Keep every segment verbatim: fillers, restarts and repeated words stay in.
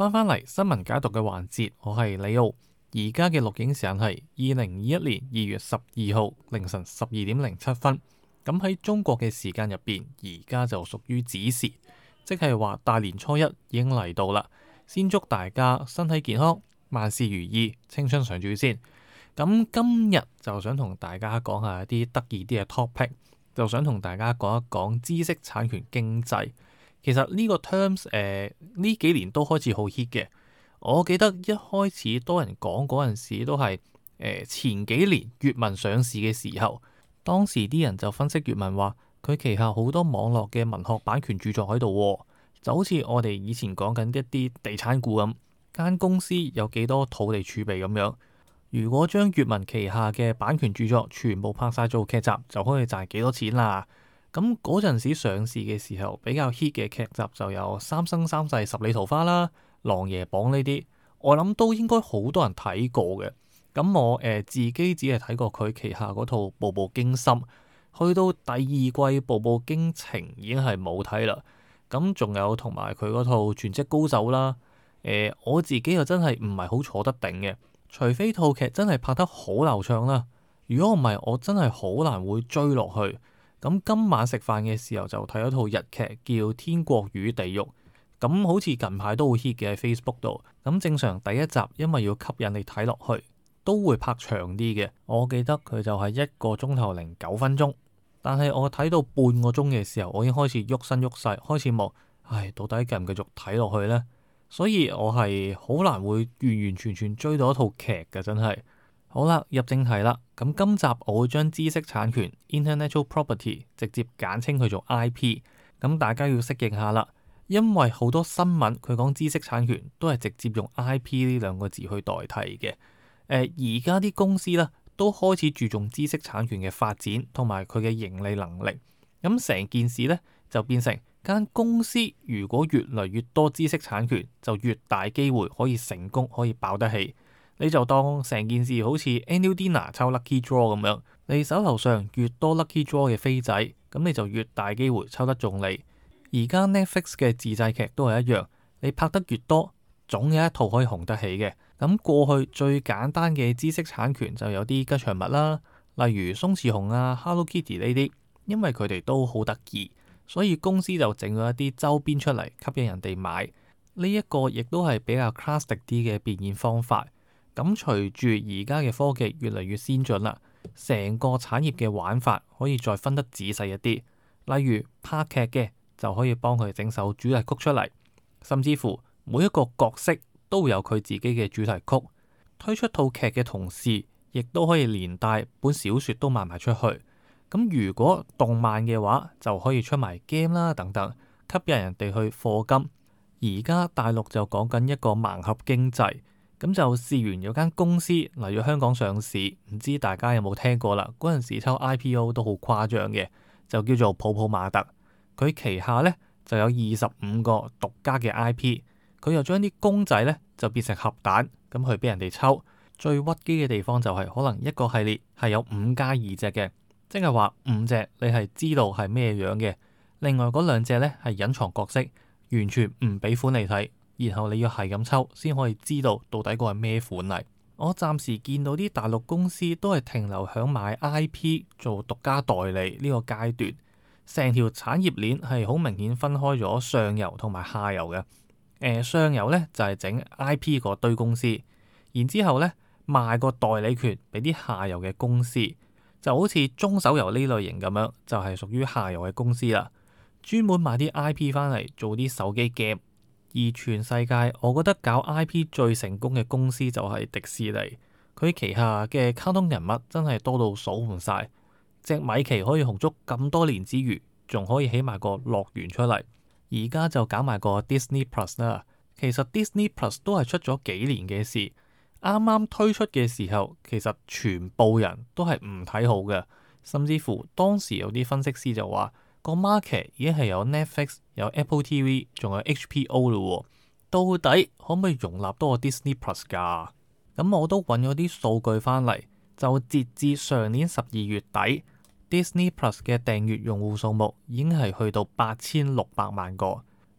翻返嚟新聞解讀嘅環節，我係李奧。而家嘅錄影時間係二零二一年二月十二號凌晨十二點零七分。咁喺中國嘅時間入邊，而家就屬於子時，即係話大年初一已經嚟到啦。先祝大家身體健康，萬事如意，青春常駐先。咁今日就想同大家講下一啲得意啲嘅 topic，就想同大家講一講知識產權經濟。其實呢個 terms 誒、呃、呢幾年都開始好 hit 嘅。我記得一開始多人講嗰陣時都係誒、呃、前幾年閱文上市嘅時候，當時啲人就分析閱文話佢旗下好多網絡嘅文學版權著作喺度，就好似我哋以前講緊一啲地產股咁，間公司有幾多土地儲備咁樣。如果將閱文旗下嘅版權著作全部拍晒做劇集，就可以賺幾多錢啦。咁嗰陣時上市嘅時候，比較 hit 嘅劇集就有《三生三世十里桃花》啦，《琅琊榜》呢啲，我諗都應該好多人睇過嘅。咁我誒、呃、自己只係睇過佢旗下嗰套《步步驚心》，去到第二季《步步驚情》已經係冇睇啦。咁仲有同埋佢嗰套《全職高手》啦。誒、呃，我自己又真係唔係好坐得頂嘅，除非套劇真係拍得好流暢啦。如果唔係，我真係好難會追落去。咁今晚食飯嘅時候就睇咗套日劇叫《天國與地獄》，咁好似近排都好 hit 嘅喺 Facebook 度。咁正常第一集因為要吸引你睇落去，都會拍長啲嘅。我記得佢就係一個鐘頭零九分鐘，但係我睇到半個鐘嘅時候，我已經開始喐身喐勢，開始望，唉，到底繼唔繼續睇落去呢？所以我係好難會完完全全追到一套劇嘅，真係。好啦，入正題啦。咁今集我會將知識產權 Intellectual Property 直接簡稱佢做 I P。咁大家要適應下啦，因為好多新聞佢講知識產權都係直接用 I P 呢兩個字去代替嘅。誒、呃，而家啲公司咧都開始注重知識產權嘅發展同埋佢嘅盈利能力。咁成件事咧就變成間公司如果越嚟越多知識產權，就越大機會可以成功，可以爆得起。你就當成件事好似 Annual Dinner 抽 Lucky Draw 咁樣，你手頭上越多 Lucky Draw 嘅飛仔，咁你就越大機會抽得中你。而家 Netflix 嘅自製劇都係一樣，你拍得越多，總有一套可以紅得起嘅。咁過去最簡單嘅知識產權就有啲吉祥物啦，例如鬆弛熊啊、Hello Kitty 呢啲，因為佢哋都好得意，所以公司就整咗一啲周邊出嚟吸引人哋買。呢、這、一個亦都係比較 classic 啲嘅變現方法。咁隨住而家嘅科技越嚟越先進啦，成個產業嘅玩法可以再分得仔細一啲。例如拍劇嘅就可以幫佢整首主題曲出嚟，甚至乎每一個角色都會有佢自己嘅主題曲。推出套劇嘅同時，亦都可以連帶本小說都賣埋出去。咁如果動漫嘅話，就可以出埋 game 啦等等，吸引人哋去課金。而家大陸就講緊一個盲盒經濟。咁就試完有間公司嚟咗香港上市，唔知大家有冇聽過啦？嗰陣時抽 I P O 都好誇張嘅，就叫做泡泡瑪特。佢旗下咧就有二十五個獨家嘅 I P， 佢又將啲公仔咧就變成盒蛋，咁去俾人哋抽。最屈機嘅地方就係、是、可能一個系列係有五加二隻嘅，即係話五隻你係知道係咩樣嘅，另外嗰兩隻咧係隱藏角色，完全唔俾款你睇。然後你要係咁抽，先可以知道到底個係咩款嚟。我暫時見到啲大陸公司都係停留響買 I P 做獨家代理呢個階段，成條產業鏈係好明顯分開咗上游同埋下游嘅。誒、呃，上游咧就係、是、整 I P 嗰堆公司，然之後咧賣個代理權俾啲下游嘅公司，就好似中手游呢類型咁樣，就係、是、屬於下游嘅公司啦，專門買啲 I P 翻嚟做啲手機 game。而全世界，我覺得搞 I P 最成功嘅公司就係迪士尼，佢旗下嘅卡通人物真係多到數唔晒。隻米奇可以紅足咁多年之餘，仲可以起埋個樂園出嚟。而家就搞埋個 Disney Plus 啦。其實 Disney Plus 都係出咗幾年嘅事，啱啱推出嘅時候，其實全部人都係唔睇好嘅，甚至乎當時有啲分析師就話，個 market 已經係有 Netflix、有 Apple T V， 仲有 H B O 咯。到底可唔可以容納多個 Disney Plus 㗎？咁我都揾咗啲數據翻嚟，就截至上年十二月底，Disney Plus 嘅訂閱用戶數目已經係去到八千六百萬個。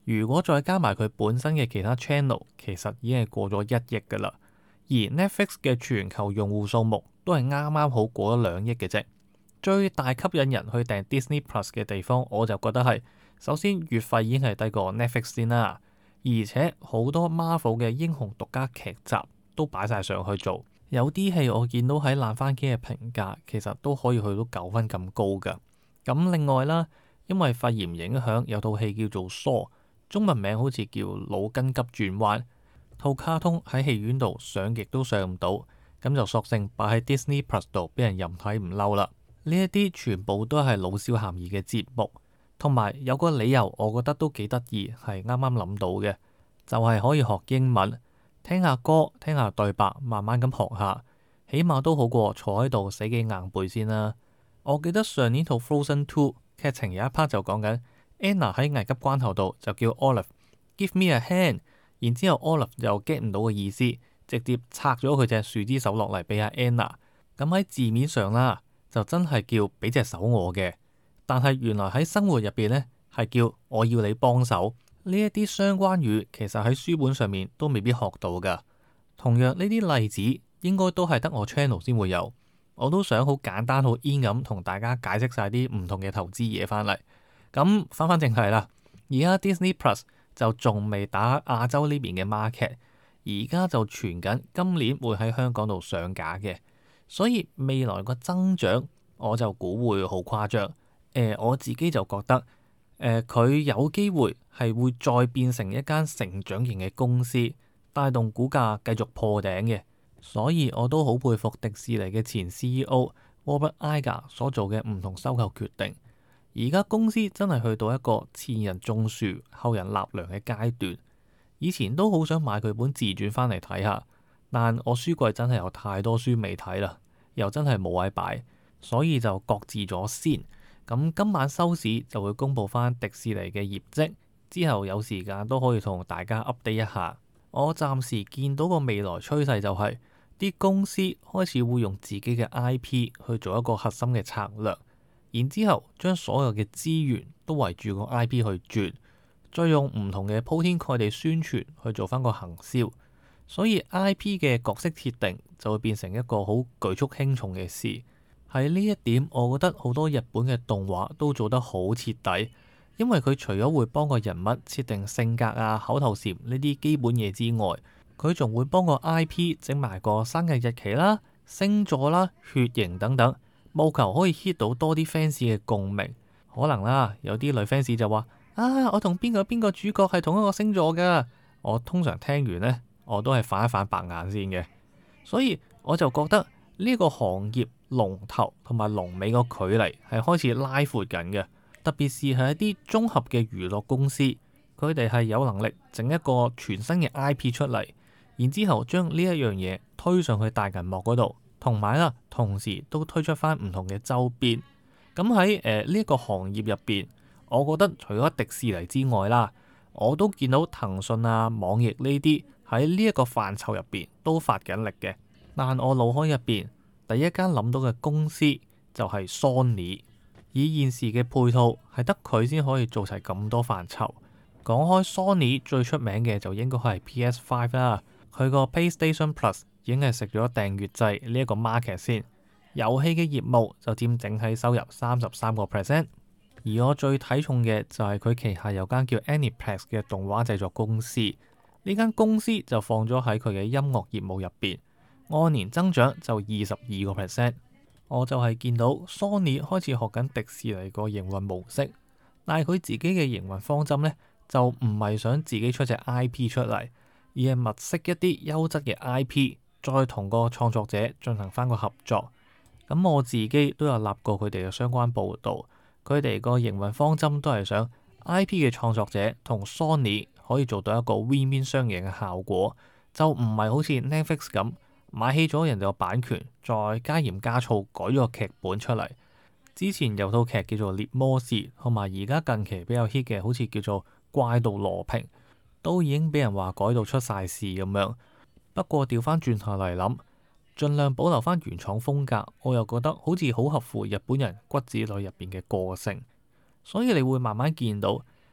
如果再加埋佢本身嘅其他 channel，其實已經係過咗一億噶啦。而 Netflix 嘅全球用戶數目都係啱啱好過咗兩億嘅啫。最大吸引人去訂 Disney Plus 嘅地方，我就覺得係首先月費已經係低過 Netflix 先啦，而且好多 Marvel 嘅英雄獨家劇集都擺晒上去做。有啲戲我見到喺爛番茄嘅評價，其實都可以去到九分咁高噶。咁另外啦，因為肺炎影響，有套戲叫做 Saw， 中文名好似叫腦筋急轉彎。套卡通喺戲院度上極都上唔到，咁就索性擺喺 Disney Plus 度，俾人任睇唔嬲啦。呢一啲全部都係老少咸宜嘅節目，同埋有個理由，我覺得都幾得意，係啱啱諗到嘅，就係可以學英文。聽下歌，聽下對白，慢慢咁學下，起碼都好過坐喺度死記硬背先啦。我記得上年套 Frozen Two 劇情有一 part 就講緊 Anna 喺危急關頭度就叫 Olaf Give me a hand， 然之後 Olaf 又 get 唔到個意思，直接拆咗佢隻樹枝手落嚟俾阿 Anna。咁喺字面上啦，就真係叫俾隻手我嘅，但係原來喺生活入邊呢，係叫我要你幫手。呢一啲相關語其實喺書本上面都未必學到噶。同樣呢啲例子應該都係得我 channel 先會有。我都想好簡單好 in 咁同大家解釋晒啲唔同嘅投資嘢翻嚟。咁翻返正題啦，而家 Disney Plus 就仲未打亞洲呢邊嘅 market， 而家就傳緊今年會喺香港度上架嘅，所以未來個增長我就估會好誇張。誒、呃，我自己就覺得。誒，佢、呃、有機會係會再變成一間成長型嘅公司，帶動股價繼續破頂嘅。所以我都好佩服迪士尼嘅前 C E O Robert Iger 所做嘅唔同收購決定。而家公司真係去到一個前人種樹，後人納涼嘅階段。以前都好想買佢本自傳翻嚟睇下，但我書櫃真係有太多書未睇啦，又真係冇位擺，所以就擱置咗先。咁今晚收市就會公布翻迪士尼嘅業績，之後有時間都可以同大家 update 一下。我暫時見到個未來趨勢就係、是、啲公司開始會用自己嘅 I P 去做一個核心嘅策略，然之後將所有嘅資源都圍住個 I P 去轉，再用唔同嘅鋪天蓋地宣傳去做翻個行銷，所以 I P 嘅角色設定就會變成一個好舉足輕重嘅事。喺呢一點，我覺得好多日本嘅動畫都做得好徹底，因為佢除咗會幫個人物設定性格啊、口頭禪呢啲基本嘢之外，佢仲會幫個 I P 整埋個生日日期啦、星座啦、血型等等，務求可以 hit 到多啲 fans 嘅共鳴。可能啦，有啲女 fans 就話：啊，我同邊個邊個主角係同一個星座㗎。我通常聽完呢，我都係反一反白眼先嘅。所以我就覺得呢個行業龍頭同埋龍尾個距離係開始拉闊緊嘅，特別是係一啲綜合嘅娛樂公司，佢哋係有能力整一個全新嘅 I P 出嚟，然之後將呢一樣嘢推上去大銀幕嗰度，同埋啦，同時都推出翻唔同嘅周邊。咁喺誒呢一個行業入邊，我覺得除咗迪士尼之外啦，我都見到騰訊啊、網易呢啲喺呢一個範疇入邊都發緊力嘅。但我腦海入邊第一間諗到嘅公司就係 Sony， 以現時嘅配套係得佢先可以做齊咁多範疇。講開 Sony 最出名嘅就應該係 P S 五 啦，佢個 PlayStation Plus 已經係食咗訂閱制呢一個 market 先，遊戲嘅業務就佔整體收入三十三個 percent。而我最睇重嘅就係佢旗下有間叫 Aniplex 嘅動畫製作公司，呢間公司就放咗喺佢嘅音樂業務入邊。按年增長就二十二個 percent， 我就係見到 Sony 開始學緊迪士尼個營運模式，但係佢自己嘅營運方針呢，就唔係想自己出隻 I P 出嚟，而係物色一啲優質嘅 I P， 再同個創作者進行翻個合作。咁我自己都有立過佢哋嘅相關報導，佢哋個營運方針都係想 I P 嘅創作者同 Sony 可以做到一個 win-win 雙贏嘅效果，就唔係好似 Netflix 咁。買起咗人哋個版權，再加鹽加醋改咗個劇本出嚟。之前有套劇叫做《獵魔士》，同埋而家近期比較 hit 嘅，好似叫做《怪盜羅平》，都已經俾人話改到出晒事咁樣。不過調翻轉頭嚟諗，盡量保留翻原創風格，我又覺得好似好合乎日本人骨子裏入邊嘅個性。所以你會慢慢見到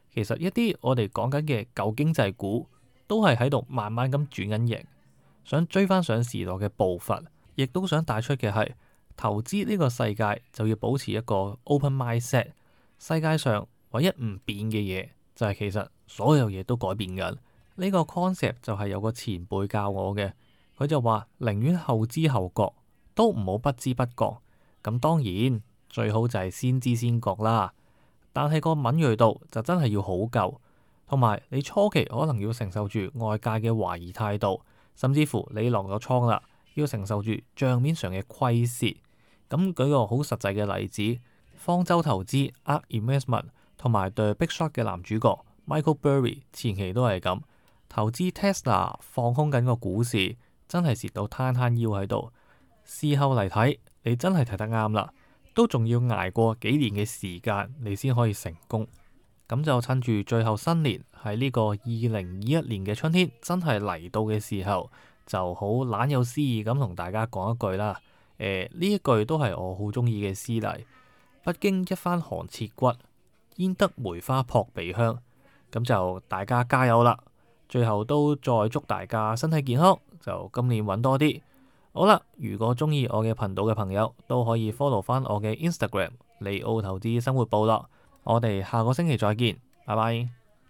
其實一啲我哋講緊嘅舊經濟股都係喺度慢慢咁轉緊型，想追翻上時代嘅步伐，亦都想帶出嘅係投資呢個世界就要保持一個 open mindset。世界上唯一唔變嘅嘢就係其實所有嘢都改變緊。呢個 concept 就係有個前輩教我嘅，佢就話寧願後知後覺，都唔好不知不覺。咁當然最好就係先知先覺啦，但係個敏銳度就真係要好夠，同埋你初期可能要承受住外界嘅懷疑態度，甚至乎你落咗倉啦，要承受住賬面上嘅虧蝕。咁舉個好實際嘅例子，方舟投資 ARK Investment 同埋 The Big Short 嘅男主角 Michael Burry 前期都係咁。投資 Tesla 放空緊個股市，真係蝕到攤攤腰喺度。事後嚟睇，你真係睇得啱啦，都仲要捱過幾年嘅時間，你先可以成功。咁就趁住最後新年喺呢個二零二一年嘅春天真係嚟到嘅時候，就好懶有詩意咁同大家講一句啦。誒、呃，呢一句都係我好中意嘅詩嚟。不經一番寒徹骨，焉得梅花撲鼻香。咁就大家加油啦！最後都再祝大家身體健康，就今年揾多啲。好啦，如果中意我嘅頻道嘅朋友，都可以 follow 翻我嘅 Instagram 利奧投資生活部落。我哋下個星期再見，拜拜。